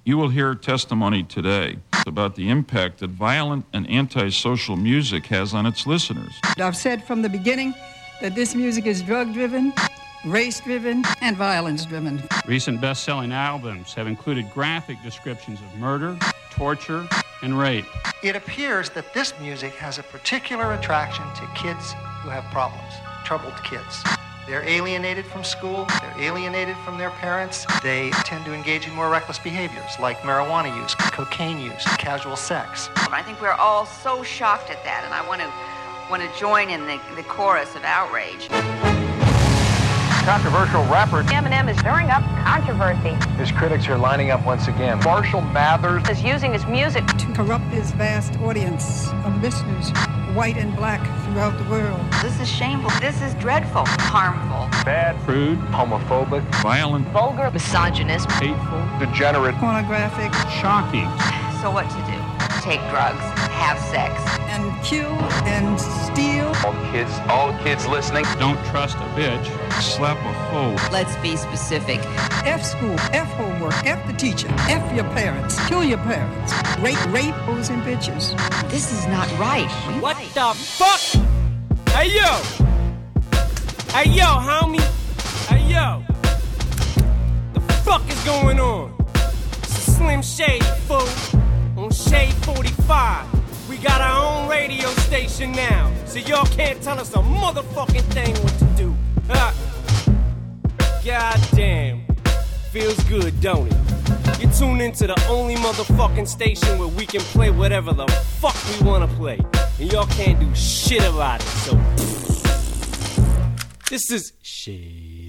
You will hear testimony today about the impact that violent and antisocial music has on its listeners. I've said from the beginning that this music is drug-driven, race-driven, and violence-driven. Recent best-selling albums have included graphic descriptions of murder, torture, and rape. It appears that this music has a particular attraction to kids who have problems, troubled kids. They're alienated from school, they're alienated from their parents. They tend to engage in more reckless behaviors like marijuana use, cocaine use, casual sex. I think we're all so shocked at that, and I want to join in the chorus of outrage. Controversial rapper Eminem is stirring up controversy. His critics are lining up once again. Marshall Mathers is using his music to corrupt his vast audience of listeners, white and black, throughout the world. This is shameful. This is dreadful. Harmful. Bad. Crude. Homophobic. Violent. Vulgar. Misogynist. Hateful. Degenerate. Pornographic. Shocking. So what to do? Take drugs, have sex, and kill and steal. All kids listening. Don't trust a bitch. Slap a hoe. Let's be specific. F school, F homework, F the teacher, F your parents, kill your parents, rape hoes and bitches. This is not right. What the fuck? Hey yo! Hey yo, homie! Hey yo! The fuck is going on? It's a Slim Shady, fool. On Shade 45. We got our own radio station now, so y'all can't tell us a motherfucking thing what to do. God damn. Feels good, don't it? You tune into the only motherfucking station where we can play whatever the fuck we wanna play. And y'all can't do shit about it, so this is shit.